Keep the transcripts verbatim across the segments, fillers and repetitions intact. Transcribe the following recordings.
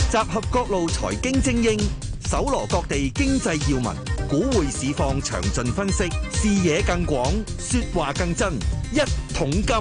集合各路財經精英，搜羅各地經濟要聞，股匯市況詳盡分析，視野更廣，說話更真。一桶金。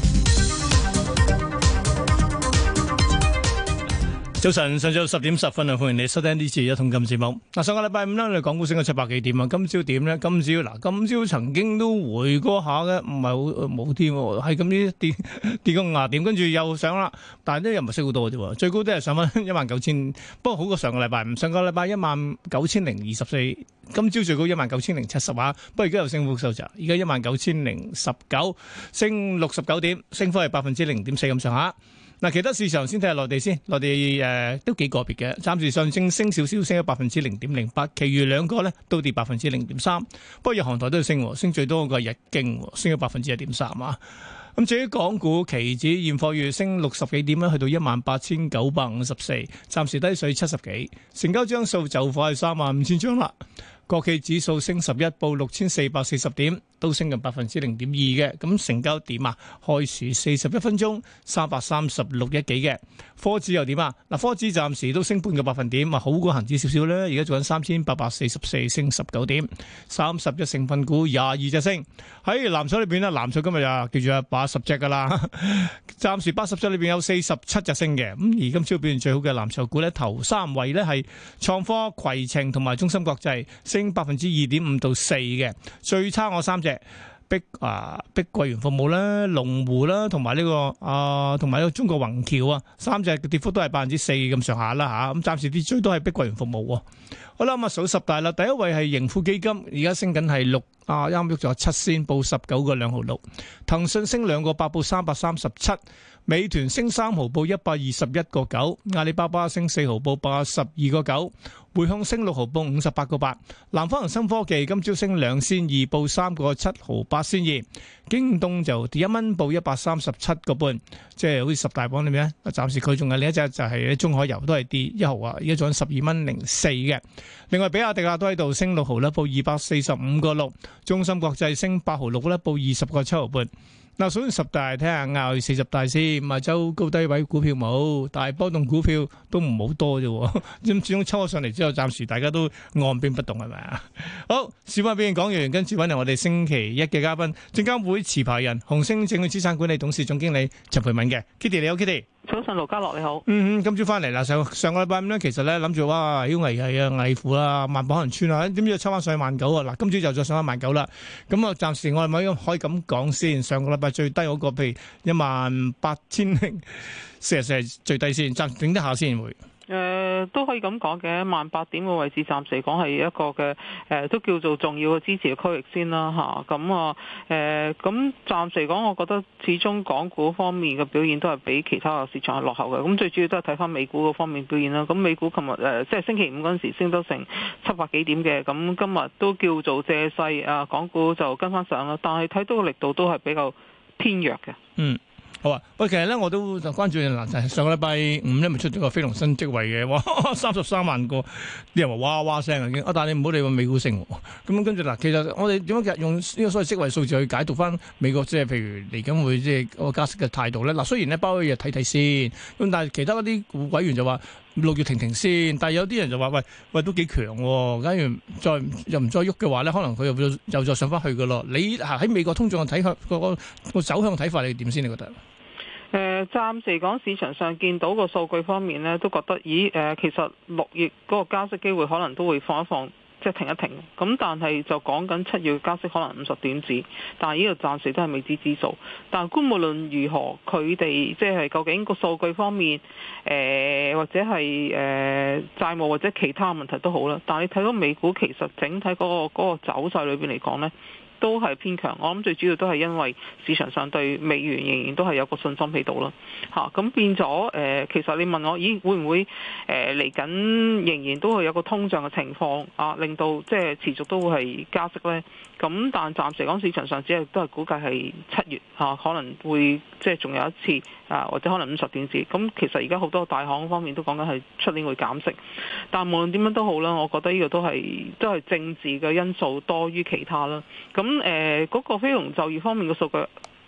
早晨，上晝十點十分啊，歡迎你收聽呢次一桶金節目。嗱，上個禮拜五咧，我哋港股升咗七百幾點啊。今朝點咧？今朝嗱，今朝曾經都回過下嘅，唔係好冇添，係咁啲跌跌個廿點，跟住又上啦。但係咧又唔係升好多嘅啫，最高都係上翻一萬九千，不過好過上個禮拜五。上個禮拜一萬九千零二十四，今朝最高一萬九千零七十啊。不過而家又升幅收窄，而家一萬九千零十九，升六十九點，升幅係百分之零點四咁上下。嗱，其他市場先睇下內地先，內地誒、呃、都幾個別嘅，暫時上證升少少，升咗百分之零點零八，其餘兩個咧都跌百分之零點三。不過日韓台都要升，升最多個係日經，升咗百分之一點三啊。咁至於港股期指現貨月升六十幾點咧，去到一萬八千九百五十四，暫時低水七十幾，成交張數就快三萬五千張啦。國企指數升十一，報六千四百四十點，都升近百分之零點二嘅。咁成交點啊，開市四十一分鐘三百三十六億幾嘅。科指又點啊？嗱，科指暫時都升半個百分點，啊好過恒指少少咧。而家做緊三千八百四十四，升十九點，三十隻成分股廿二隻升。喺藍籌裏邊咧，藍籌今日啊叫做八十隻噶啦，暫時八十隻裏邊有四十七隻升嘅。咁而今朝表現最好嘅藍籌股咧，頭三位咧係創科、攜程同埋中芯國際，升百分之二點五到四嘅。最差我三隻。碧啊，碧桂園服務啦、龍湖啦，同埋呢個啊，同埋呢個中國宏橋啊，三隻嘅跌幅都係百分之四咁上下啦吓。咁暫時跌最多係碧桂園服務。好啦，咁啊數十大啦，第一位係盈富基金，而家升緊係六啊，啱喐咗七仙，報十九個兩毫六。騰訊升兩個八，報三百三十七。美團升三毫，報一百二十一個九。阿里巴巴升四毫，報八十二個九。匯控升六毫，報五十八個八。南方恒生科技今朝升兩仙二，報三個七毫八仙二。京東就跌一蚊，報一百三十七個半。即係好似十大榜裏面咧，暫時佢仲有另一隻就係中海油都係跌一毫啊，而家仲十二蚊零四嘅。另外比亞迪啊都喺度升六毫啦，報二百四十五個六。中芯國際升八毫六啦，報二十個七毫半。嗱，數完十大，睇下亞四十大先。亞洲高低位股票冇，但係波動股票都唔好多啫。咁始終抽咗上嚟之後，暫時大家都按兵不動係咪啊？好，小巴表現講完，跟住揾嚟我哋星期一嘅嘉賓，證監會持牌人、紅星證券資產管理董事總經理陳蓓敏嘅 Kitty，你好 Kitty。 早晨，盧家樂你好。 嗯嗯，今朝翻嚟啦，上上個禮拜五咧，其實咧諗住哇，好危係啊，危乎啦，萬寶可能穿啊，點知抽翻上去萬九啊？嗱，今朝就再上翻萬九啦。咁啊，暫時我係咪可以咁講先？上個禮拜最低嗰個，譬如一萬八千零四十四係最低先，暫頂得下先會。 誒、呃、都可以咁講嘅，萬八點嘅位置暫時嚟講係一個嘅誒、呃，都叫做重要嘅支持嘅區域先啦嚇。咁啊誒，咁暫時嚟講，我覺得始終港股方面嘅表現都係比其他嘅市場係落後嘅。咁最主要都係睇翻美股嗰方面表現啦。咁美股琴日誒即係星期五嗰陣時升得成七百幾點嘅，咁今日都叫做借勢啊，港股就跟翻上啦。但係睇到個力度都係比較偏弱嘅。 嗯。好啊！喂，其實咧我都就關注嗱，就係上個禮拜五咧，咪出咗個非農新職位嘅，哇，三十三萬個，啲人話哇哇聲啊已經。啊，但係你唔好理個美股升，咁跟住嗱，其實我哋點樣用呢個所謂職位數字去解讀翻美國，即係譬如嚟緊會即係個加息嘅態度咧。嗱，雖然咧鮑威爾睇睇先，咁但係其他嗰啲委員就話六月停停先，但係有啲人就話喂喂都幾強喎，假如再又唔再喐嘅話咧，可能佢又又再上翻去噶咯。你喺美國通脹嘅睇法個個走向睇法，你點先？你覺得？ 誒、呃，暫時嚟講，市場上見到個數據方面呢，都覺得，咦，誒、呃，其實六月嗰個加息機會可能都會放一放，即係停一停。咁但係就講緊七月加息可能五十點子，但係呢個暫時都係未知之數。但係無論如何，佢哋即係究竟個數據方面，誒、呃、或者係誒、呃、債務或者其他問題都好啦。但係你睇到美股其實整體嗰、嗰個嗰個走勢裏邊嚟講呢，都係偏強，我諗最主要都係因為市場上對美元仍然都係有個信心喺度啦，嚇、啊、咁變咗誒、呃，其實你問我，咦會唔會誒嚟緊仍然都會有個通脹嘅情況啊，令到即係持續都會係加息咧？咁但暫時講市場上只係都係估計係七月嚇、啊、可能會即係仲有一次啊，或者可能五十點子。咁其實而家好多大行方面都講緊係出年會減息，但無論點樣都好啦，我覺得呢個都係都係政治嘅因素多於其他啦。咁誒嗰個非農就業方面嘅數據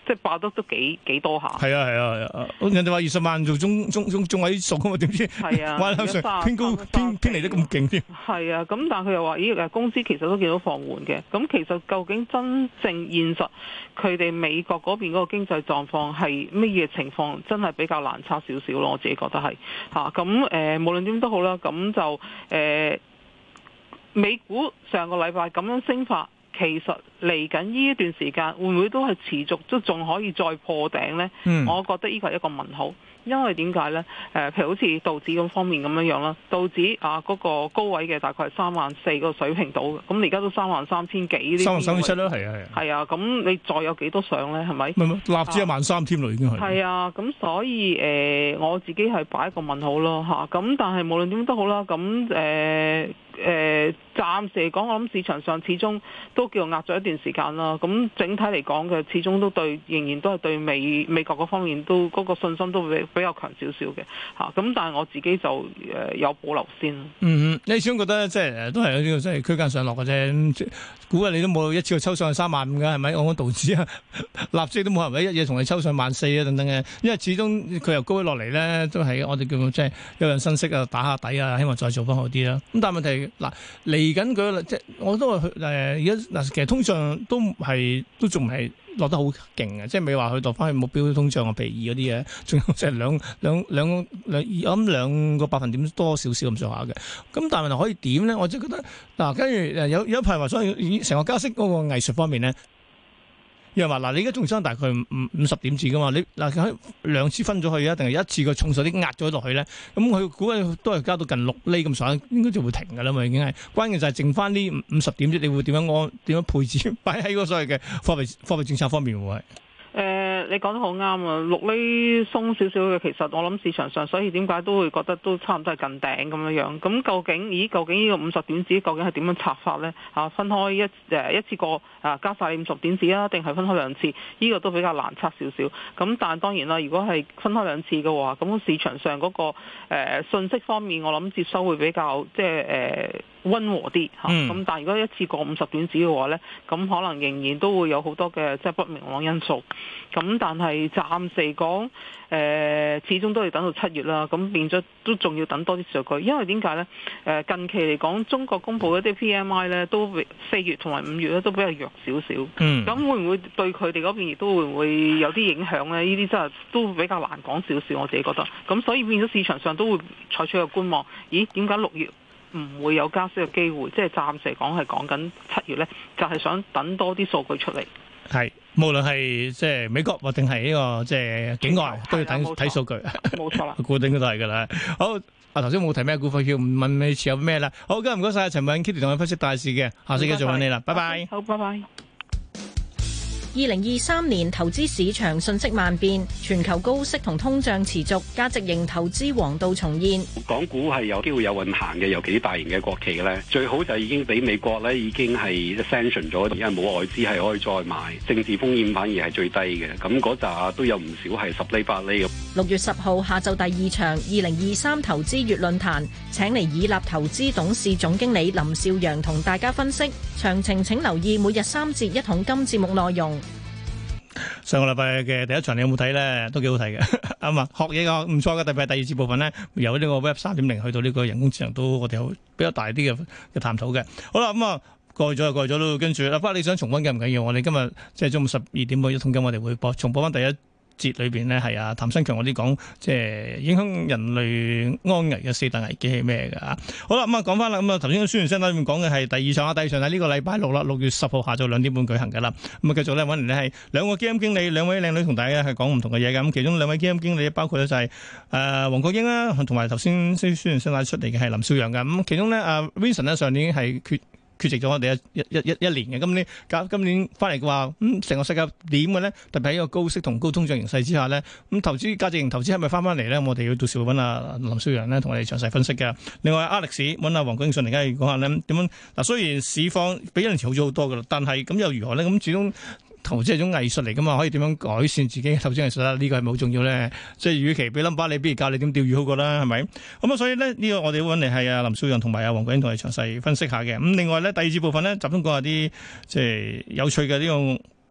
即係爆得都幾幾多下。 係啊係啊係啊，人哋話二十萬做中中中中位數啊嘛，點知係啊， 哇上偏高偏偏離得咁勁添。 係啊，咁但係佢又話咦誒工資其實都見到放緩嘅，咁其實究竟真正現實佢哋美國嗰邊嗰個經濟狀況係乜嘢情況，真係比較難測少少咯，我自己覺得係嚇。咁、啊、誒、呃、無論點都好啦，咁就誒、呃、美股上個禮拜咁樣升法。其實嚟緊呢一段時間會唔會都係持續都仲可以再破頂呢？嗯、我覺得呢個係一個問號，因為點解呢？誒、呃，譬如好似道指咁方面咁樣樣啦，道指啊嗰、那個高位嘅大概係三萬四個水平度嘅，咁你而家都三萬三千幾呢啲，三萬三千七啦，係啊係啊，係啊，咁你再有幾多上呢？係咪？唔係納指一萬三添咯，已經係。 係啊，咁所以誒、呃，我自己係擺一個問號咯嚇，咁但係無論點都好啦，咁誒。呃誒、呃，暫時嚟講，我諗市場上始終都叫壓咗一段時間啦。咁整體嚟講嘅，始終都對，仍然都係對美美國嗰方面都嗰、嗰個信心都比比較強少少嘅嚇。咁、啊、但係我自己就誒、呃、有保留先。 嗯，你始終覺得即係都係有呢個即係區間上落嘅啫。估計你都冇一次過抽上去三萬五嘅係咪？我講道指啊，納指都冇人咪一嘢同你抽上萬四啊等等嘅。因為始終佢由高位落嚟咧，都係我哋叫即係有人分析啊，打下底啊，希望再做翻好啲啦。咁但係問題。嗱，嚟緊佢即係我都話誒而家嗱，其實通脹都係都仲係落得好勁嘅，即係未話去到翻去目標通脹嘅比二嗰啲嘢，仲有即係兩兩兩兩我諗兩個百分點多少少咁上下嘅。咁但係問題可以點咧？我就覺得嗱，跟住誒有有一排話，所以成個加息嗰個藝術方面咧。又話嗱，你而家仲爭大概五五十點子噶嘛？你嗱佢兩次分咗去啊，定係一次個重手啲壓咗落去咧？咁佢估計都係加到近六厘咁上下，應該就會停噶啦嘛，已經係。關鍵就係剩翻呢五十點子，你會點樣安點樣配置擺喺嗰所謂嘅貨幣貨幣政策方面會係？ 誒、呃，你講得好啱啊！六厘鬆少少嘅，其實我諗市場上，所以點解都會覺得都差唔多係近頂咁樣樣。咁究竟，咦？究竟呢個五十點子究竟係點樣拆法呢？啊，分開一誒一次過啊加晒五十點子啊，定係分開兩次？呢、這個都比較難測少少。咁但係當然啦，如果係分開兩次嘅話，咁市場上嗰、那個誒、呃、信息方面，我諗接收會比較即係誒溫和啲嚇。咁、嗯、但係如果一次過五十點子嘅話呢，咁可能仍然都會有好多嘅即係不明朗因素。咁但係暫時講，誒、呃、始終都要等到七月啦。咁變咗都仲要等多啲數據，因為點解呢？誒近期嚟講，中國公布一啲 P M I 咧，都四月同埋五月咧都比較弱少少。嗯。咁會唔會對佢哋嗰邊亦都會唔會有啲影響呢？呢啲真係都比較難講少少，我自己覺得。咁所以變咗市場上都會採取個觀望。咦？點解六月唔會有加息嘅機會？即係暫時嚟講係講緊七月呢，就係、是、想等多啲數據出嚟。係。 無論係即係美國或定係呢個即係境外，都要睇睇數據。 冇錯啦， 固定都係噶啦。好，啊頭先冇提咩股份，要問你持有咩啦？好，今日唔該晒陳偉殷 Kitty 同我分析大市嘅，下次繼續揾你啦，拜拜。 好，拜拜。 二零二三年投資市場瞬息萬變，全球高息同通脹持續，價值型投資黃道重現。 港股係有機會有運行嘅，尤其啲大型嘅國企咧，最好就已經俾美國咧已經係 sanction 咗，而家冇外資係可以再買，政治風險反而係最低嘅。咁嗰扎都有唔少係十厘八厘咁。 六月十號下晝第二場二零二三投資月論壇，請嚟以立投資董事總經理林少陽同大家分析。詳情請留意每日三節一桶金節目內容。 上個禮拜嘅第一場你有冇睇咧？都幾好睇嘅，啱啊！學嘢個唔錯嘅，特別係第二節部分咧，由呢個 Web 三點零去到呢個人工智能，都我哋有比較大啲嘅嘅探討嘅。好啦，咁、嗯、啊過咗就過咗咯，跟住啦，不過你想重溫緊唔緊要？我哋今日即係中午十二點半一桶金，我哋會播重播翻第一節裏邊呢係啊譚新強嗰啲講，即係影響人類安危嘅四大危機係咩㗎？好啦，咁啊講翻啦，咁啊頭先宣傳聲帶裏面講嘅係第二場啊，第二場喺呢個禮拜六啦，六月十號下晝兩點半舉行㗎啦。咁啊繼續咧揾嚟呢係兩個基金經理，兩位靚女同大家係講唔同嘅嘢㗎。咁其中兩位基金經理包括咧就係誒黃國英啦，同埋頭先宣傳聲帶出嚟嘅係林少陽㗎。咁其中咧啊 Vincent 呢上年係缺。缺席咗我哋一一一一年嘅，今年今今年翻嚟嘅話，咁、嗯、成個世界點嘅咧？特別喺一個高息同高通脹形勢之下咧，咁、嗯、投資價值型投資係咪翻翻嚟咧？我哋要到時會揾阿林少陽咧同我哋詳細分析嘅。另外 Alex 揾阿黃國英上嚟，而家要講下咧點樣嗱。雖然市況比一年前好咗好多噶啦，但係咁又如何咧？咁始終投資係種藝術嚟噶嘛，可以點樣改善自己嘅投資藝術啦？呢、這個係咪好重要咧？即係與其俾 number 你，不如教你點釣魚好過啦，係咪？咁啊，所以咧呢、這個我哋會揾嚟係阿林少陽同埋阿黃國英同我哋詳細分析下嘅。咁另外咧第二節部分咧集中講下啲即係有趣嘅呢、這個。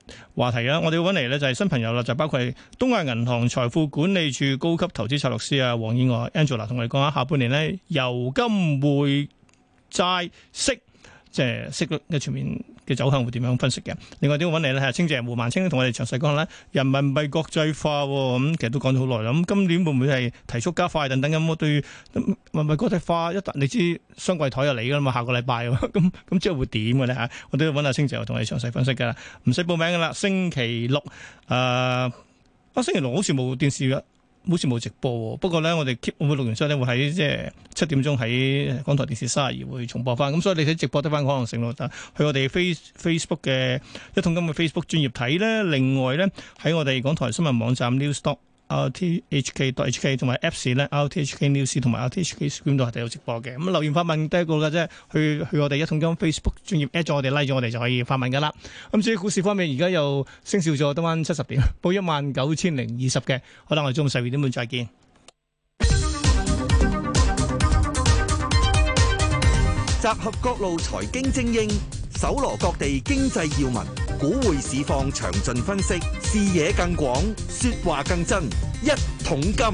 話題啊！我哋要揾嚟咧就係新朋友啦，就包括係東亞銀行財富管理處高級投資策略師啊，黃燕娥 Angela 同我哋講下下半年咧油金匯債息。即係息率嘅全面嘅走向會點樣分析嘅？另外點揾嚟咧係清姐胡萬清同我哋詳細講咧人民幣國際化咁、嗯，其實都講咗好耐啦。咁今年會唔會係提速加快等等咁？我對人民幣國際化一旦你知雙櫃台就嚟㗎啦嘛，下個禮拜咁咁即係會點嘅咧嚇？我都要揾阿清姐同我哋詳細分析㗎啦，唔使報名㗎啦。星期六誒啊，星期六好似冇電視㗎。好似冇直播喎，不過咧我哋 keep 會錄完之後咧會喺即係七點鐘喺港台電視三十二會重播翻，咁所以你睇直播得翻可能性咯。但去我哋 face Facebook 嘅一桶金嘅 Facebook 專頁睇咧，另外咧喺我哋港台新聞網站 Newstalk R T H K dot H K 同埋 Apps 咧 R T H K News 同埋 R T H K Screen 都係有直播嘅。咁留言發問第一個嘅啫，去去我哋一桶金 Facebook 專頁 at 咗我哋 like 咗我哋就可以發問噶啦。咁至於股市方面，而家又升少咗，得翻七十點，報一萬九千零二十嘅。好啦，我哋中午十二點半再見。 集合各路財經精英，搜羅各地經濟要聞，股匯市況詳盡分析，視野更廣，說話更真。一桶金，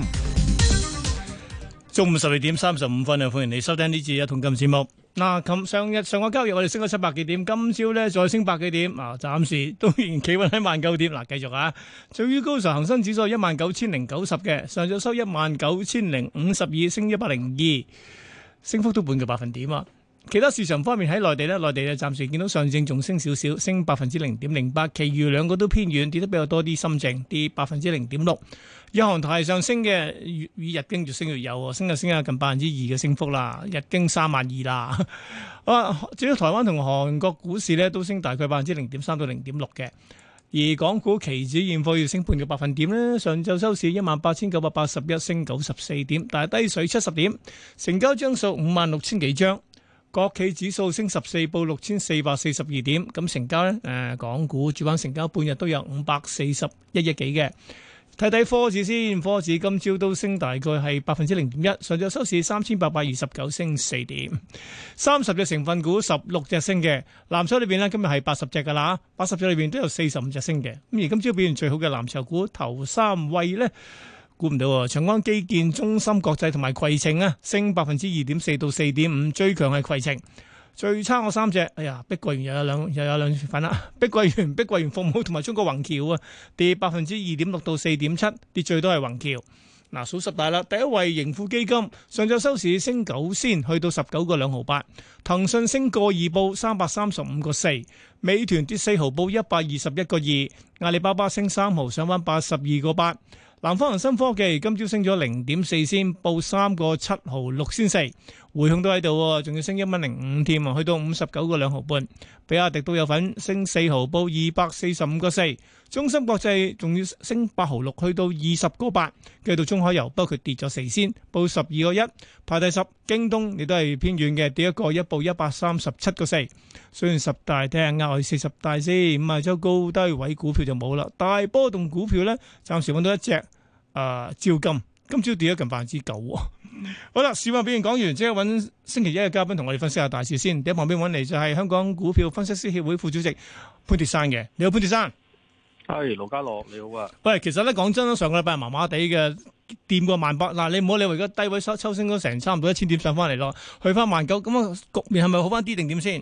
中午十二點三十五分啊！歡迎你收聽呢次一桶金節目。嗱，咁上日上個交易我哋升咗七百幾點，今朝咧再升百幾點，啊，暫時都仍然企穩喺萬九點。嗱，繼續啊，最高時候恒生指數一萬九千零九十嘅，上晝收一萬九千零五十二，升一百零二，升幅都半個百分點啊。其他市場方面喺內地咧，內地咧暫時見到上證仲升少少，升百分之零點零八，其餘兩個都偏軟，跌得比較多啲。深證跌百分之零點六。日韓台上升嘅，越以日經越升越有，升就升下近百分之二嘅升幅啦。日經三萬二啦。啊，至於台灣同韓國股市咧，都升大概百分之零點三到零點六嘅。而港股期指現貨要升半個百分點咧，上晝收市一萬八千九百八十一，升九十四點，但係低水七十點，成交張數五萬六千幾張。國企指數升十四，報六千四百四十二點，咁成交咧，誒、呃，港股主板成交半日都有五百四十一億幾嘅。睇睇科指先，科指今朝都升大概係百分之零點一，上晝收市三千八百二十九，升四點。三十隻成分股，十六隻升嘅。藍籌裏邊呢，今日係八十隻噶啦，八十隻裏邊都有四十五隻升嘅。咁而今朝表現最好嘅藍籌股頭三位呢。估唔到喎，長安基建、中芯國際同埋攜程啊，升百分之二點四到四點五，最強係攜程。最差我三隻，哎呀，碧桂園又有兩又有兩份啦，碧桂園、碧桂園服務同埋中國宏橋啊，跌百分之二點六到四點七，跌最多係宏橋。嗱，數十大啦，第一位盈富基金上晝收市升九仙，去到十九個兩毫八。騰訊升個二報三百三十五個四，美團跌四毫報一百二十一個二，阿里巴巴升三毫上返八十二個八。南方恒生科技今朝升咗零點四仙，報三個七毫六仙四，匯控都喺度，仲要升一蚊零五添啊，去到五十九個兩毫半。比亞迪都有份升四毫，報二百四十五個四。中芯國際仲要升八毫六，去到二十個八。繼到中海油，不過佢跌咗四仙，報十二個一，排第十。京東亦都係偏軟嘅，跌一個一，報一百三十七個四。雖然十大睇下額外四十大先，五十周高低位股票就冇啦。大波動股票咧，暫時揾到一隻，誒、呃，招金，今朝跌咗近百分之九。好啦，市況表現講完，即刻揾星期一嘅嘉賓同我哋分析下大事先。喺旁邊揾嚟就係香港股票分析師協會副主席潘鐵珊嘅，你好潘鐵珊。 係盧家樂你好啊。 喂，其實咧講真，上個禮拜麻麻地嘅，掂過萬八。嗱，你唔好理會而家低位收抽升咗成差唔多一千點上翻嚟咯，去翻萬九，咁啊局面係咪好翻啲定點先？ 誒、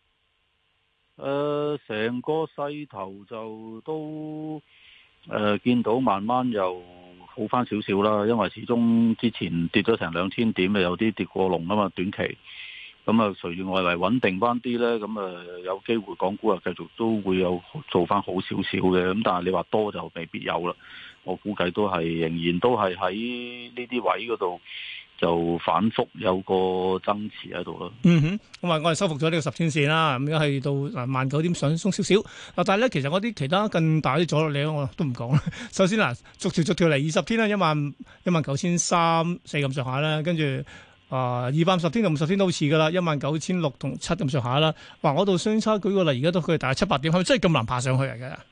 呃，成個勢頭就都誒、呃、見到慢慢又好翻少少啦，因為始終之前跌咗成兩千點，有啲跌過龍啊嘛，短期。咁啊，隨住外圍穩定翻啲咧，咁啊有機會港股啊繼續都會有做翻好少少嘅。咁但係你話多就未必有啦。我估計都係仍然都係喺呢啲位嗰度就反覆有個增持喺度咯。 嗯哼，咁啊，我哋收復咗呢個十天線啦，咁而家係到嗱萬九點上鬆少少。嗱，但係咧，其實我啲其他更大啲阻力咧，我都唔講啦。首先嗱，逐條逐條嚟二十天啦，一萬一萬九千三四咁上下啦，跟住。啊，二百五十天同五十天都好似噶啦，一萬九千六同七咁上下啦。哇，我度相差舉個例，而家都佢大概七八點，係咪真係咁難爬上去嚟嘅？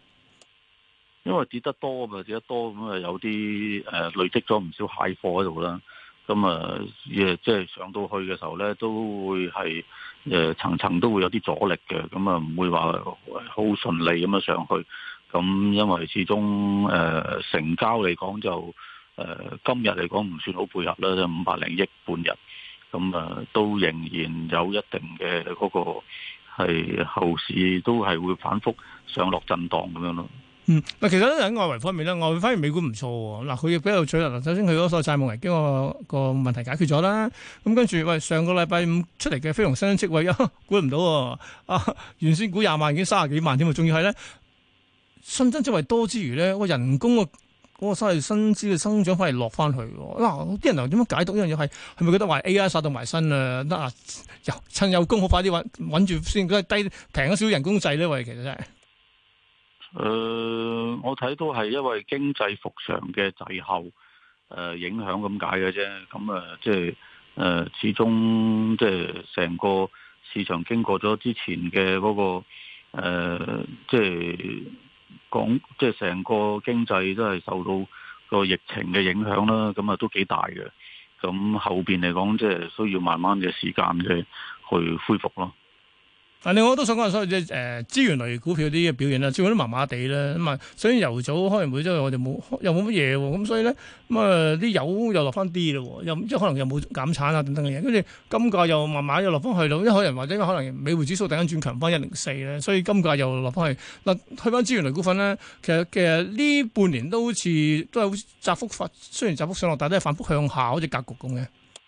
因為跌得多嘛，跌得多咁啊，有啲誒、呃、累積咗唔少蟹貨喺度啦。 咁啊，誒即係上到去嘅時候咧，都會係誒層層都會有啲阻力嘅，咁啊唔會話好順利咁樣上去。咁因為始終誒、呃、成交嚟講就誒、呃、今日嚟講唔算好配合啦，就五百零億半日，咁啊都仍然有一定嘅嗰、那個係後市都係會反覆上落震盪咁樣咯。 嗯，嗱，其實咧喺外圍方面咧，外圍反而美股唔錯喎。嗱，佢亦比較取啦。首先佢嗰個債務危機個個問題解決咗啦。咁跟住，喂，上個禮拜五出嚟嘅非農新增職位，啊，估唔到喎。啊，原先估廿萬已經三十幾萬添啊，仲要係咧新增職位多之餘咧，個人工個嗰個所謂薪資嘅增長反而落翻去。嗱，啲人又點樣解讀呢樣嘢？係係咪覺得話 A I 殺到埋身啊？得啊，趁有工好快啲揾揾住先，佢係低平咗少人工制咧？喂，其實真係。 誒、呃，我睇到係因為經濟復常嘅滯後誒、呃、影響咁解嘅啫。咁啊，即係誒，始終即係成個市場經過咗之前嘅嗰、那個誒，即係講即係成個經濟都係受到個疫情嘅影響啦。咁啊，都幾大嘅。咁後邊嚟講，即係需要慢慢嘅時間嘅去恢復咯。 嗱，另外我都想講下所謂即係誒資源類股票啲嘅表現啦，最近都麻麻地啦。咁啊，所以油組可能會即係我哋冇又冇乜嘢喎，咁所以咧咁啊啲油又落翻啲咯，又即係可能又冇減產啊等等嘅嘢，跟住金價又慢慢又落翻去咯，因為可能或者可能美匯指數突然間轉強翻一零四咧，所以金價又落翻去。嗱，去翻資源類股份咧，其實其實呢半年都好似都係好窄幅發，雖然窄幅上落，但係都係反覆向下好似格局咁嘅。誒、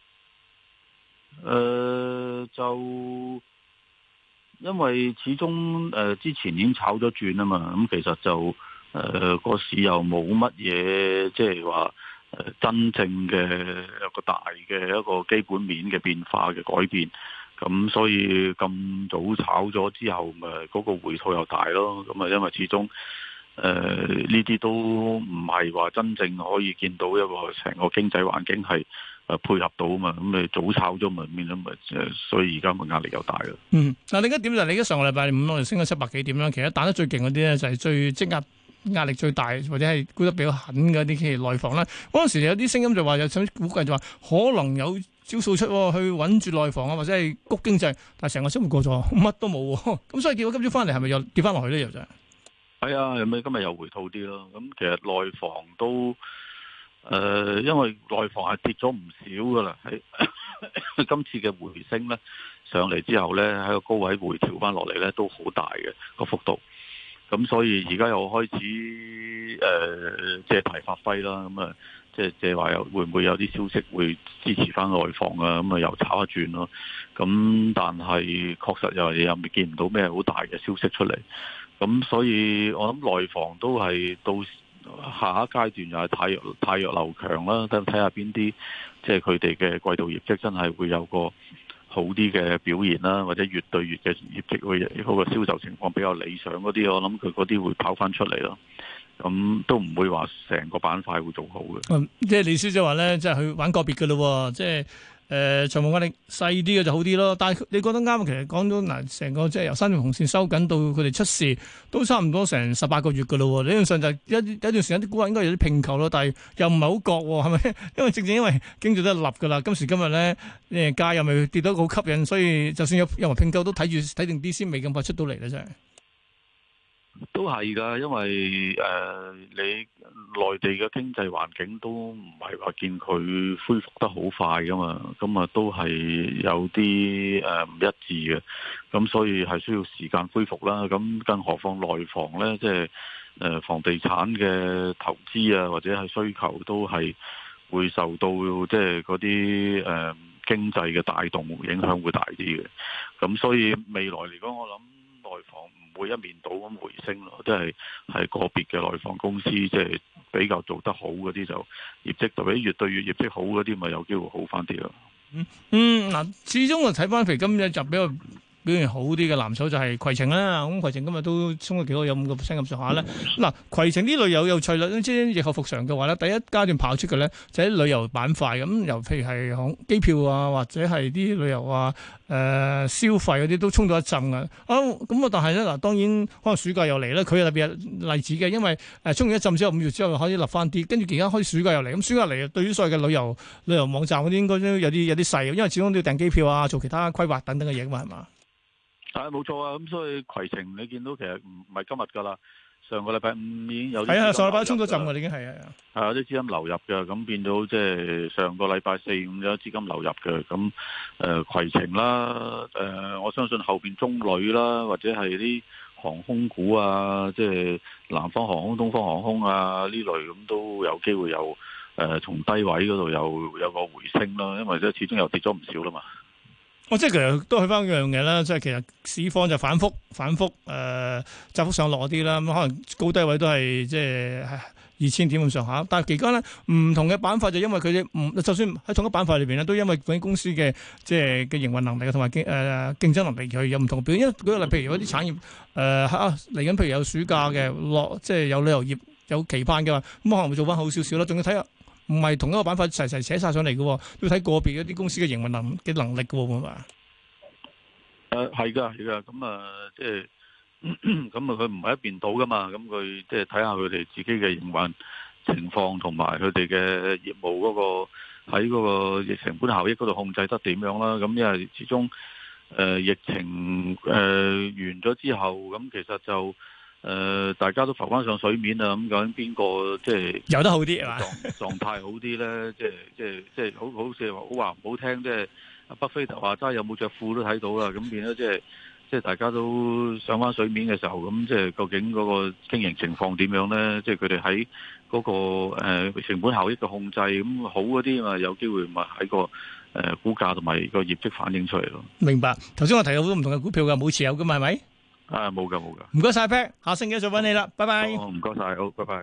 呃，就。因為始終誒、呃、之前已經炒咗轉啊嘛，咁其實就誒個、呃、市又冇乜嘢，即係話誒真正嘅一個大嘅一個基本面嘅變化嘅改變，咁所以咁早炒咗之後，咪、那、嗰個回吐又大咯。咁啊，因為始終誒呢啲都唔係話真正可以見到一個成個經濟環境係。誒，配合到啊嘛，咁你早炒咗咪變咗咪誒，所以而家個壓力又大咯。 嗯，嗱，另一點就係你而家上個禮拜五我哋升咗七百幾點啦，其實打得最勁嗰啲咧就係最積壓壓力最大或者係沽得比較狠嘅啲企業內房啦。嗰陣時有啲聲音就話有想估計就話可能有招數出去穩住內房啊，或者係谷經濟，但係成個週末過咗，乜都冇。咁所以結果今朝翻嚟係咪又跌翻落去咧？又就係係啊，咁咪今日又回吐啲咯。咁其實內房都。誒、呃，因為內房係跌咗唔少噶啦，喺今次嘅回升咧上嚟之後咧，喺個高位回調翻落嚟咧都好大嘅個幅度，咁所以而家又開始誒、呃、借題發揮啦，咁啊即係即係話有會唔會有啲消息會支持翻內房啊？咁啊又炒一轉咯，咁但係確實又又未見唔到咩好大嘅消息出嚟，咁所以我諗內房都係到。下一階段又係太弱太弱流強啦，等睇下邊啲即係佢哋嘅季度業績真係會有個好啲嘅表現啦，或者月對月嘅業績會嗰個銷售情況比較理想嗰啲，我諗佢嗰啲會跑翻出嚟咯。咁都唔會話成個板塊會做好嘅。 嗯，即係李小姐話咧，即係去玩個別嘅咯，即係。誒長毛壓力細啲嘅就好啲咯，但係你覺得啱？其實講到嗱，成個即係由三條紅線收緊到佢哋出事，都差唔多成十八個月嘅咯。理論上就一一段時間啲股價應該有啲併購咯，但係又唔係好覺喎，係咪？因為正正因為經濟都係立㗎啦，今時今日咧誒價又未跌到好吸引，所以就算有任何併購都睇住睇定啲先，未咁快出到嚟咧，真係。 都係噶，因為誒、呃、你內地嘅經濟環境都唔係話見佢恢復得好快噶嘛，咁啊都係有啲誒唔一致嘅，咁所以係需要時間恢復啦。咁更何況內房呢，即係誒房地產嘅投資啊，或者係需求都係會受到即係嗰啲誒經濟嘅帶動影響會大啲嘅。咁所以未來嚟講，我諗內房唔會一面倒咁回升咯，即係係個別嘅內房公司，即係比較做得好嗰啲就業績，特別越對越業績好嗰啲，咪有機會好翻啲咯。 嗯嗯，嗱，始終我睇翻譬如今日就比較表現好啲嘅藍籌就係攜程啦。咁攜程今日都衝咗幾多，有五個 percent 咁上下咧。嗱，攜程呢類有有趣啦，即係疫後復常嘅話咧，第一階段跑出嘅咧就喺旅遊板塊咁，尤譬如係航機票啊，或者係啲旅遊啊、誒、呃、消費嗰啲都衝到一陣啊。啊，咁啊，但係咧嗱，當然可能暑假又嚟咧，佢係特別例子嘅，因為誒衝完一陣之後，五月之後可以立翻啲，跟住而家開始暑假又嚟，咁暑假嚟對於所謂嘅旅遊旅遊網站嗰啲應該都有啲有啲細，因為始終都要訂機票啊，做其他規劃等等嘅嘢嘛，係嘛？ 係冇錯啊，咁所以攜程你見到其實唔唔係今日㗎啦，上個禮拜五已經有啲係啊，上個禮拜都衝咗陣㗎，已經係啊， 係有啲資金流入嘅，咁變到即係上個禮拜四五有資金流入嘅，咁誒攜程啦，誒、呃、我相信後邊中旅啦，或者係啲航空股啊，即係南方航空、東方航空啊呢類咁都有機會有誒從低位嗰度有有個回升啦，因為即係始終又跌咗唔少啦嘛。 哦，即係其實都去翻一樣嘢啦，即係其實市況就反覆反覆誒，窄、呃、幅上落啲啦，咁可能高低位都係即係二千點咁上下。但係期間咧，唔同嘅板塊就因為佢哋唔，就算喺同一板塊裏邊咧，都因為嗰啲公司嘅即係嘅營運能力同埋競誒競爭能力佢有唔同嘅表現。因為舉個例，譬如有啲產業誒啊嚟緊，譬如有暑假嘅落，即係有旅遊業有期盼嘅話，咁可能會做翻好少少啦。仲要睇下。唔係同一個板塊齊齊寫晒上嚟嘅，要睇個別一啲公司嘅營運能嘅能力嘅，會唔會啊？ 誒係㗎，係㗎，咁啊，即係咁啊，佢唔係一邊倒㗎嘛，咁佢即係睇下佢哋自己嘅營運情況同埋佢哋嘅業務嗰個喺嗰個疫成本效益嗰度控制得點樣啦。咁因為始終誒、呃、疫情誒、呃、完咗之後，咁其實就。誒、呃，大家都浮翻上水面啊！咁究竟邊個即係游得好啲係嘛？ 狀狀態好啲咧？即係即係即係好好似話好話唔好聽，即係阿巴菲特話齋有冇着褲都睇到啦。咁變咗即係即係大家都上翻水面嘅時候，咁即係究竟嗰個經營情況點樣咧？即係佢哋喺嗰個誒、呃、成本效益嘅控制咁好嗰啲嘛，有機會咪喺個誒、呃、股價同埋個業績反映出嚟咯。 明白。頭先我提到好多唔同嘅股票嘅，冇持有噶嘛，係咪？ 啊，冇噶冇噶， 唔該晒 Pat， 下星期再揾你啦，拜拜。 哦，唔該晒，好，拜拜。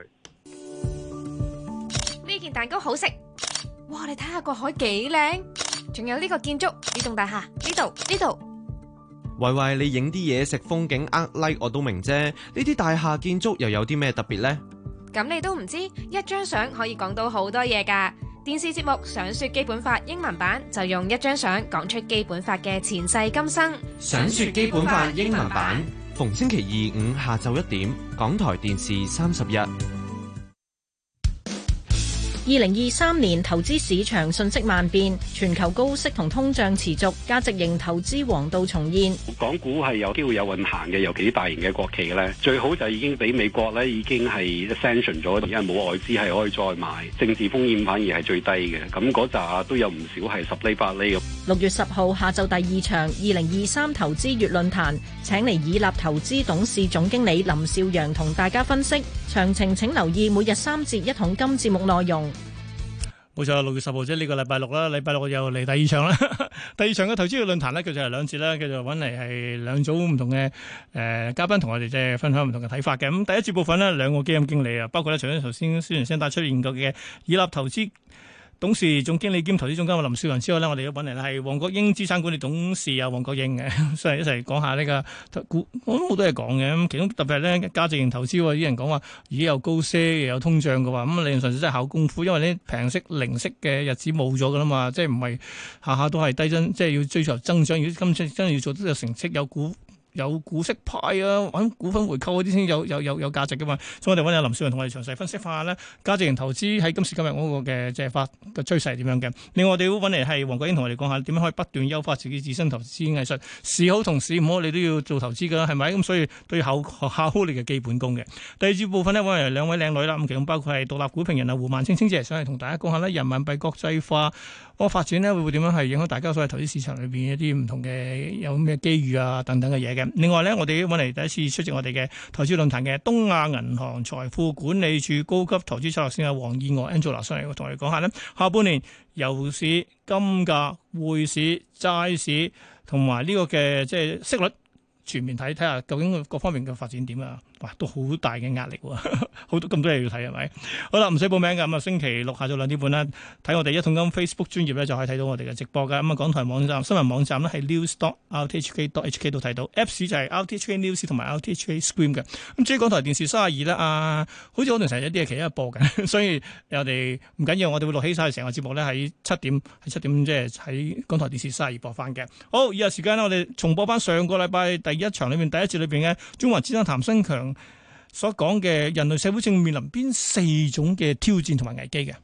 呢件蛋糕好食，哇！你睇下個海幾靚，仲有呢個建築呢棟大廈，呢度呢度。 喂喂，你影啲嘢食風景呃 like 我都明啫，呢啲大廈建築又有啲咩特別呢？ 咁你都唔知，一張相可以講到好多嘢㗎。電視節目《想說基本法》英文版就用一張相講出基本法嘅前世今生。 想說基本法英文版，逢星期二五下晝一點，港台電視三十一。 二零二三年投資市場瞬息萬變，全球高息同通脹持續，價值型投資黃道重現。 港股係有機會有運行嘅，尤其啲大型嘅國企咧，最好就已經俾美國咧已經係 sanction 咗，而家冇外資係可以再買，政治風險反而係最低嘅。咁嗰扎都有唔少係十厘八厘咁。 六月十號下晝第二場二零二三投資月論壇，請嚟以立投資董事總經理林少陽同大家分析。詳情請留意每日三節一桶金節目內容。 冇錯，六月十號即係呢個禮拜六啦，禮拜六又嚟第二場啦。第二場嘅投資嘅論壇咧，佢就係兩節啦，佢就揾嚟係兩組唔同嘅誒、呃、嘉賓同我哋即係分享唔同嘅睇法嘅。咁第一節部分呢，兩個基金經理啊，包括咧除咗頭先宣傳聲帶出現過嘅以立投資董事總經理兼投資總監林少陽之外呢，我哋都揾嚟係黃國英資產管理董事啊，黃國英嘅，所以一齊講下呢個股，我都冇多嘢講嘅。咁其中特別係咧價值型投資，啲人講話而家有高息又有通脹嘅話，咁理論上真係考功夫，因為呢平息零息嘅日子冇咗噶啦嘛，即係唔係下下都係低增，即係要追求增長。如果今次真係要做到有成績有股。有股息派啊，揾股份回購嗰啲先有有有有價值噶嘛，所以我哋揾阿林少陽同我哋詳細分析下咧，價值型投資喺今時今日嗰個嘅即係發嘅趨勢係點樣嘅。另外我哋都揾嚟係黃國英同我哋講下點樣可以不斷優化自己自身投資藝術，市好同市唔好你都要做投資噶啦，係咪？咁所以都要考考好你嘅基本功嘅。第二節部分呢，揾嚟兩位靚女啦，咁其中包括係獨立股評人啊胡萬清清姐上嚟同大家講下咧人民幣國際化嗰個發展呢，會會點樣係影響大家所謂投資市場裏邊一啲唔同嘅有咩機遇啊等等嘅嘢嘅。另外咧，我哋揾嚟第一次出席我哋嘅投資論壇嘅東亞銀行財富管理處高級投資策略師啊黃燕娥 Angela 上嚟同我哋講下咧，下半年油市、金價、匯市、債市同埋呢個嘅即係息率全面睇睇下究竟各方面嘅發展點啊！ 哇，都好大嘅壓力喎，好多咁多嘢要睇係咪？好啦，唔使報名㗎，咁啊星期六下晝兩點半啦，睇我哋一桶金 Facebook 專頁咧就可以睇到我哋嘅直播㗎。咁啊港台網站新聞網站咧係 news dot r t h k dot h k 度睇到 ，Apps 就係 R T H K News 同埋 R T H K Screen 嘅。咁至於港台電視三十二咧，啊，好似我哋成日有啲嘢其他播緊，所以我哋唔緊要，我哋會錄起晒成個節目咧喺七點喺七點即係喺港台電視三十二播翻嘅。好，以下時間咧我哋重播翻上個禮拜第一場裏面第一節裏邊嘅中華之聲譚新強所講嘅人類社會正面臨邊四種嘅挑戰同埋危機嘅。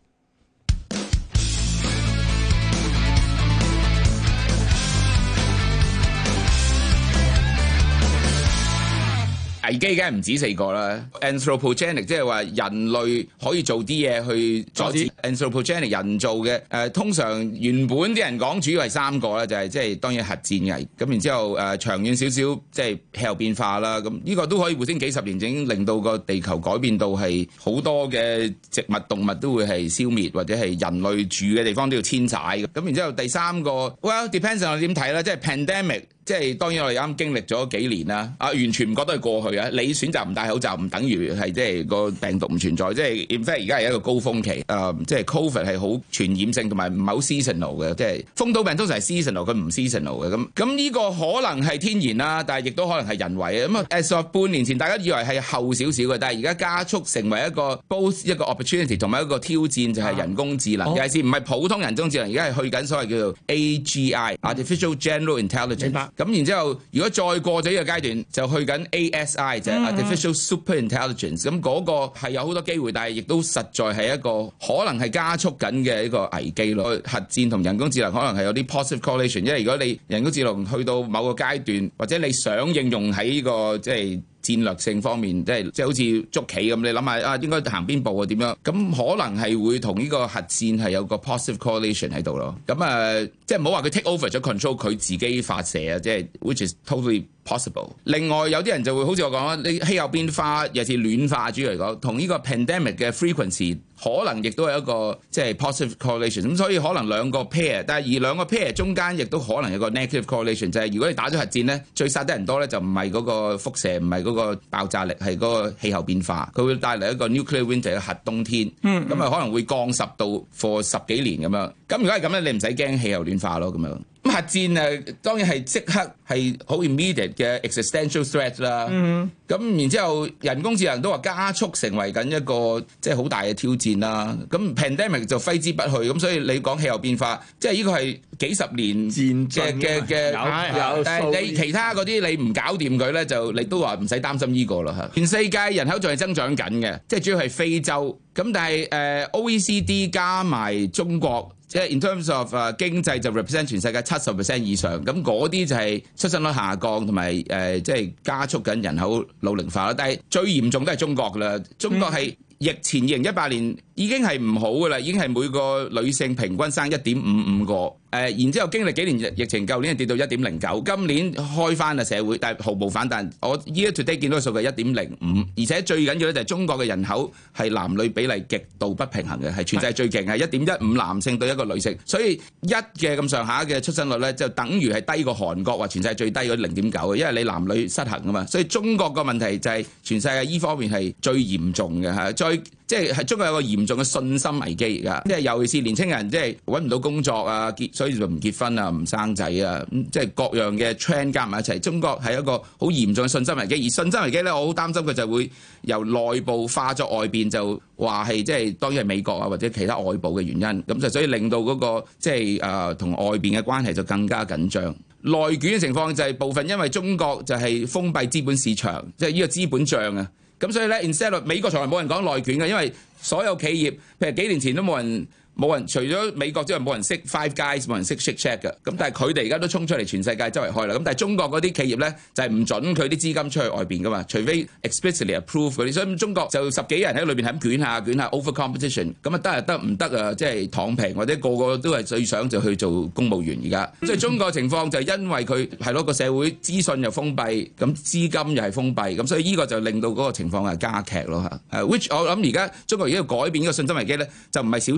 危機梗係唔止四個啦 ，anthropogenic 即係話人類可以做啲嘢去阻止 anthropogenic 人造嘅誒、呃，通常原本啲人講主要係三個啦，就係即係當然核戰危，咁然之後誒、呃、長遠少少即係氣候變化啦，咁呢個都可以回升幾十年，已經令到個地球改變到係好多嘅植物動物都會係消滅，或者係人類住嘅地方都要遷徙，咁然之後第三個 well depends on 我點睇啦，即係 pandemic。即係當然我哋啱經歷咗幾年啦，啊完全唔覺得係過去啊！你選擇唔戴口罩唔等於係即係個病毒唔存在，即係 in fact 而家係一個高峰期，誒、呃、即係 Covid 係好傳染性同埋唔係好 seasonal 嘅，即係風土病通常係 seasonal，佢唔 seasonal 嘅，咁咁呢個可能係天然啦，但係亦都可能係人為嘅。咁啊 as of 半年前大家以為係後少少嘅，但係而家加速成為一個 both 一個 opportunity 同埋一個挑戰，就係人工智能，尤其是唔係普通人工智能，而家係去緊所謂叫做 A G I（Artificial General Intelligence）。咁然之後，如果再過咗呢個階段，就去緊 A S I，就係 Artificial Super Intelligence。咁嗰個係有好多機會，但係亦都實在係一個可能係加速緊嘅一個危機咯。核戰同人工智能可能係有啲 positive correlation，因為如果你人工智能去到某個階段，或者你想應用喺呢個即係戰略性方面，即係即係好似捉棋咁，你諗下啊，應該行邊步啊？點樣？咁可能係會同呢個核戰係有個 positive correlation 喺度咯。咁啊、呃，即係唔好話佢 take over 咗 control，佢自己發射啊，即係 which is totally possible。另外有啲人就會好似我講啦，你氣候變化尤其是暖化主要嚟講，同呢個 pandemic 嘅 frequency 可能亦都係一個即係 positive correlation。咁所以可能兩個 pair， 但係而兩個 pair 中間亦都可能有個 negative correlation， 就係如果你打咗核戰咧，最殺得人多咧就唔係嗰個輻射，唔係嗰個爆炸力，係嗰個氣候變化，佢會帶嚟一個 nuclear winter 嘅核冬天。咁啊、嗯、可能會降十度 for 十幾年咁樣。咁如果係咁咧，你唔使驚氣候暖化咯咁樣。咁核戰誒當然係即刻係好 immediate 嘅 existential threat 啦。咁、嗯、然之後人工智能都話加速成為緊一個即係好大嘅挑戰啦。咁 pandemic 就揮之不去。咁所以你講氣候變化，即係呢個係幾十年嘅嘅嘅，但係你其他嗰啲你唔搞掂佢咧，就你都話唔使擔心呢個啦嚇。全世界人口仲係增長緊嘅，即係主要係非洲。咁但係誒、呃、O E C D 加埋中國。即係 in terms of 誒經濟就 represent 全世界七十 percent 以上，咁嗰啲就係出生率下降同埋誒即係加速緊人口老齡化啦。但係最嚴重都係中國㗎啦，中國係疫前二零一八年已經係唔好㗎啦，已經係每個女性平均生一點五五個。誒、呃，然之後經歷幾年疫情，舊年係跌到一點零九，今年開翻啦社會，但係毫無反彈。我 year to date 見到嘅數據係一點零五，而且最緊要咧就係中國嘅人口係男女比例極度不平衡嘅，係全世界最勁，係一點一五男性對一個女性，所以一嘅咁上下嘅出生率咧就等於係低過韓國話全世界最低嗰零點九嘅，因為你男女失衡啊嘛，所以中國個問題就係全世界依方面係最嚴重嘅嚇，再即係係中國有個嚴重嘅信心危機而家，即係尤其是年青人即係揾唔到工作啊結。所以就唔結婚啊，唔生仔啊，即係各樣嘅 trend 加埋一齊。中國係一個好嚴重嘅信心危機，而信心危機咧，我好擔心佢就會由內部化作外邊，就話係即係當然係美國啊或者其他外部嘅原因，咁就所以令到嗰、那個即係誒同外邊嘅關係就更加緊張。內卷嘅情況就係部分因為中國就係封閉資本市場，即係呢個資本帳啊，咁所以咧 instead of 美國從來冇人講內卷嘅，因為所有企業譬如幾年前都冇人。冇人除咗美國之外冇人識 Five Guys， 冇人識 Shake Shack 嘅，咁但係佢哋而家都衝出嚟全世界周圍開啦。咁但係中國嗰啲企業咧就係、是、唔準佢啲資金出去外邊噶嘛，除非 explicitly approve 嗰啲。所以中國就十幾人喺裏邊係咁捲下捲下 over competition， 咁啊得啊得唔得啊？即係躺平或者個個都係最想就去做公務員而家。所以中國情況就係因為佢係咯個社會資訊又封閉，咁資金又係封閉，咁所以呢個就令到嗰個情況係加劇咯嚇。Uh, which 我諗而家中國而家要改變呢個信心危機咧，就唔係小修小補。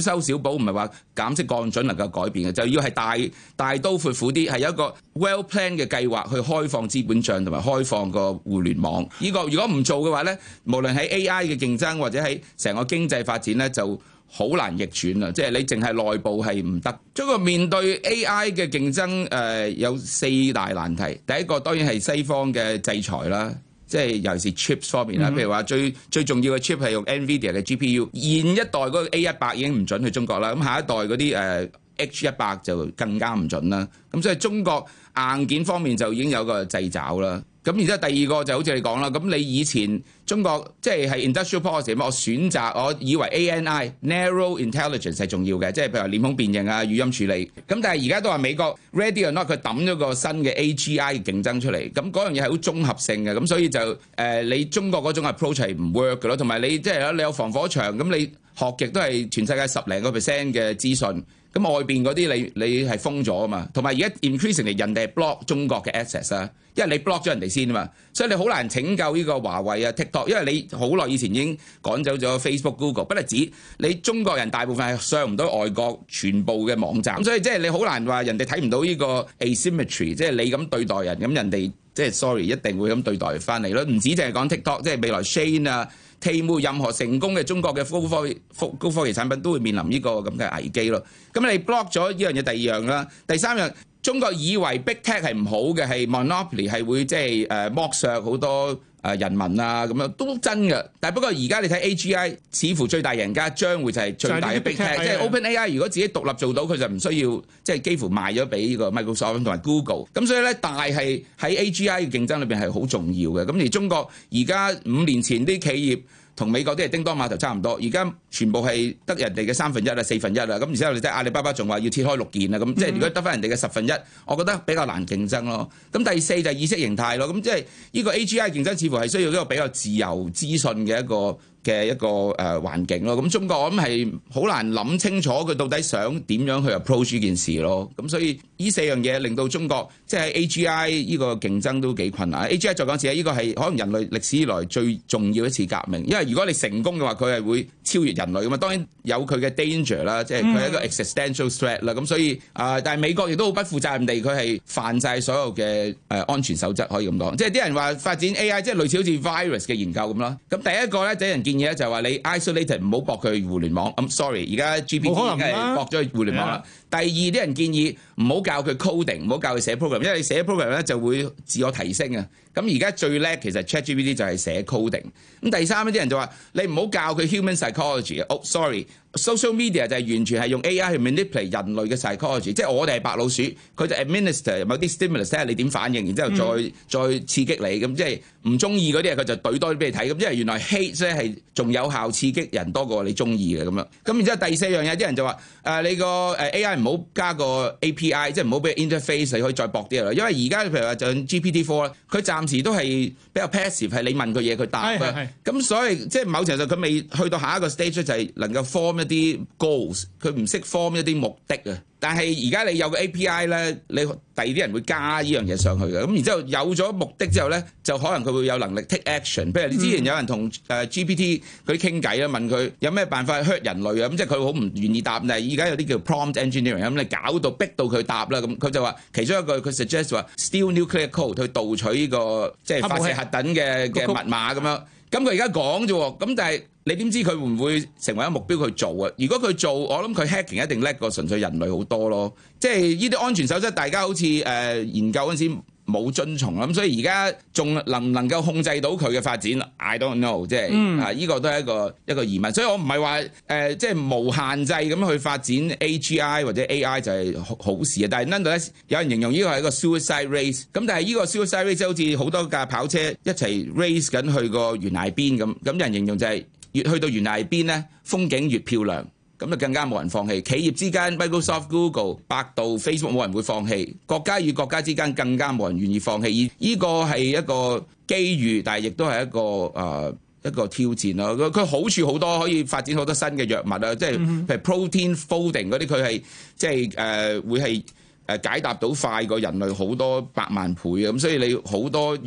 保，唔係話減息降準能夠改變嘅，就要係大大刀闊斧啲，係有一個 well plan 嘅計劃去開放資本帳同埋開放個互聯網。呢個如果唔做嘅話咧，無論喺 A I 嘅競爭或者喺成個經濟發展咧，就好難逆轉啊！即係你淨係內部係唔得。不過面對 A I 嘅競爭，誒、呃、有四大難題。第一個當然係西方嘅制裁啦。即係尤其是 chips 方面啦，譬如話最最重要嘅 chip 係用 NVIDIA 嘅 G P U，現一代嗰個 A 一百已經唔準去中國啦，咁下一代嗰啲誒 H 一百就更加唔準啦。咁所以中國硬件方面就已經有個掣肘啦。咁然之後第二個就好似你講啦，咁你以前中國即係係 industrial policy，我選擇我以為 A N I narrow intelligence 係重要嘅，即係譬如話臉孔辨認啊、語音處理。咁但係而家都話美國 ready or not，佢抌咗個新嘅 A G I 競爭出嚟，咁嗰樣嘢係好綜合性嘅，咁所以就誒、呃、你中國嗰種 approach 係唔 work 嘅咯，同埋你即係你有防火牆，咁你學極都係全世界十零個 percent 嘅資訊。咁外邊嗰啲你你係封咗啊嘛，同埋而家 increasingly 人哋係 block 中國嘅 access 啊，因為你 block 咗人哋先啊嘛，所以你好難拯救呢個華為啊 TikTok， 因為你好耐以前已經趕走咗 Facebook、Google， 不單止你中國人大部分係上唔到外國全部嘅網站，咁所以即係你好難話人哋睇唔到呢個 asymmetry， 即係你咁對待人，咁人哋即係 sorry 一定會咁對待翻嚟咯，唔止淨係講 TikTok， 即係未來 Shane 啊。Temu 任何成功嘅中國嘅高科技高科技產品都會面臨呢個咁嘅危機咯。咁你 block 咗呢樣嘢，第二樣啦，第三樣，中國以為 Big Tech 係唔好嘅，係 monopoly 係會即係誒剝削好多誒人民啊咁樣都真嘅。但係不過而家你睇 A G I， 似乎最大贏家將會就係最大嘅 Big Tech， 即係 OpenAI 如果自己獨立做到，佢就唔需要即係幾乎賣咗俾呢個 Microsoft 同埋 Google。咁所以咧，大係喺 A G I 嘅競爭裏邊係好重要嘅。咁而中國而家五年前啲企業同美國啲係叮當碼頭差唔多，而家全部係得人哋嘅三分一啊、四分一啊，咁而且我哋即係阿里巴巴仲話要切開六件啊，咁即係如果得翻人哋嘅十分一，我覺得比較難競爭咯。咁第四就係意識形態咯，咁即係呢個 A G I 競爭似乎係需要一個比較自由資訊嘅一個嘅一個誒環境咯。咁中國我諗係好難諗清楚佢到底想點樣去 approach 呢件事咯。咁所以呢四樣嘢令到中國即係 A G I 呢個競爭都幾困難。A G I 再講一次，呢個係可能人類歷史以來最重要一次革命，因為如果你成功嘅話，佢係會超越人類噶嘛。當然有佢嘅 danger 啦，即係佢係一個 existential threat 啦。咁所以啊、呃，但係美國亦都好不負責任地，佢係犯晒所有嘅誒、呃、安全守則，可以咁講。即係啲人話發展 A I， 即係類似好似 virus 嘅研究咁咯。咁第一個咧，第一人建議咧就係話你 isolated 唔好駁佢互聯網。咁、um, sorry， 而家 G P T 已經係駁咗去互聯網啦。第二啲人建議唔好教佢 coding， 唔好教佢寫 program， 因為你寫 program 咧就會自我提升啊。咁而家最叻其實 ChatGPT 就係寫 coding。咁第三啲人就話你唔好教佢 human psychology。哦，sorry，social media 就係完全係用 A I 去 manipulate 人類嘅 psychology， 即係我哋係白老鼠，佢就 administer 某啲 stimulus 睇下你點反應，然之後再、嗯、再刺激你。咁即係唔中意嗰啲佢就懟多啲俾你睇。咁即係原來 hate 咧係仲有效刺激人多過你中意嘅咁樣。咁然之後第四樣嘢啲人就話誒、呃、你個誒 A I 唔好加個 A P I， 即係唔好俾 interface 你可以再駁啲啦。因為而家譬如話就 G P T 四咧，佢暫時都係比較 passive， 係你問佢嘢佢答嘅。咁所以即係某程度上佢未去到下一個 stage 就係能夠 form 一啲 goals， 佢唔識 form 一啲目的啊。但係而家你有個 A P I 咧，你第二啲人會加呢樣嘢上去嘅。咁然之後有咗目的之後咧，就可能佢會有能力 take action。譬如你之前有人同誒 G P T 嗰啲傾偈啦，問佢有咩辦法 hurt 人類啊？咁即係佢好唔願意答。但係而家有啲叫 prompt engineering，咁你搞到逼到佢答啦。咁佢就話其中一個佢 suggest 話 steal nuclear code 去盜取呢個即係發射核彈嘅嘅密碼咁樣。咁佢而家講啫喎，咁但係你點知佢會唔會成為一個目標去做啊？如果佢做，我諗佢 hacking 一定叻過純粹人類好多咯。即係呢啲安全守則，大家好似誒、呃、研究嗰陣時冇遵從啦。咁所以而家仲能唔能夠控制到佢嘅發展 ？I don't know， 即係、嗯、啊，呢、這個都係一個一個疑問。所以我唔係話誒，即係無限制咁去發展 A G I 或者 A I 就係好事啊。但係 nonetheless 有人形容呢個係一個 suicide race。咁但係呢個 suicide race 好似好多架跑車一齊 race 緊去個懸崖邊咁。咁有人形容就係、是。越去到懸崖邊咧，風景越漂亮，咁就更加冇人放棄。企業之間 ，Microsoft、Google、百度、Facebook 冇人會放棄，國家與國家之間更加冇人願意放棄。而呢個係一個機遇，但係亦都係一個誒、呃、一個挑戰咯。佢佢好處好多，可以發展好多新嘅藥物啊，即係譬如 protein folding 嗰啲，佢係即係誒、呃、會係誒解答到快過人類好多百萬倍啊！咁所以你好多藥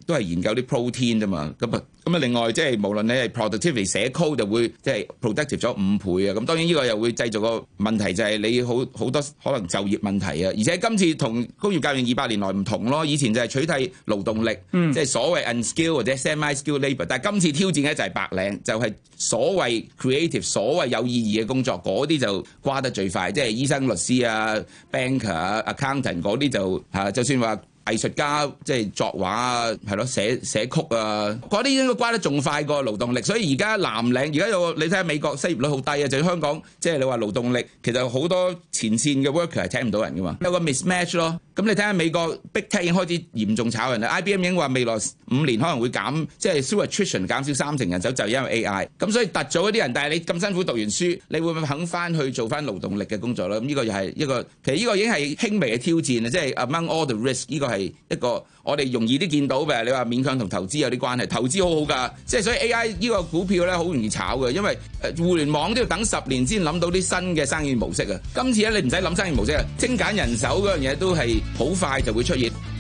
都係研究啲 protein 啫嘛。咁啊咁啊，另外即係無論你係 productivity 寫 code 就會即係 productive 咗五倍啊。咁當然呢個又會製造個問題，就係你好好多可能就業問題啊。而且今次同工業革命二百年來唔同咯，以前就係取締勞動力，嗯、即係所謂 unskilled 或者 semi-skilled labour， 但係今次挑戰嘅就係白領，就係、是、所謂 creative 所謂有意義嘅工作，嗰啲就瓜得最快，即係醫生、律師啊、banker 啊、accountant 嗰啲就嚇，就算話藝術家即係作畫啊，係咯，寫寫曲啊，嗰啲應該瓜得仲快過勞動力。所以而家藍領而家有個你睇下美國失業率好低啊，就香港即係你話勞動力其實好多前線嘅 worker 係請唔到人噶嘛，有個 mismatch 咯。咁你睇下美國 Big Tech 已經開始嚴重炒人啦 ，I B M 已經話未來五年可能會減，即係 through attrition 減少三成人手，就因為 A I。咁所以突咗嗰啲人，但係你咁辛苦讀完書，你會唔會肯翻去做翻勞動力嘅工作咧？咁呢個又係一個，其實呢個已經係輕微嘅挑戰啊！即係 among all the risk， 呢個係一個我哋容易啲見到嘅。你話勉強同投資有啲關係，投資好好㗎，即係所以 A I 呢個股票咧好容易炒嘅，因為誒互聯網都要等十年先諗到啲新嘅生意模式啊！今次咧你唔使諗生意模式啊，精簡人手嗰樣嘢都係好快就會出現。